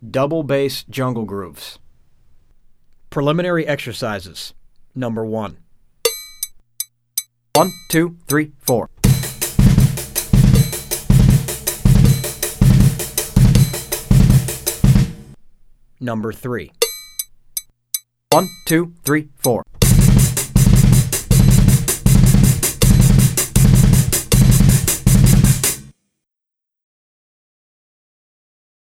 Double bass jungle grooves. Preliminary exercises. Number 1. 1, 2, 3, 4. Number 3. 1, 2, 3, 4.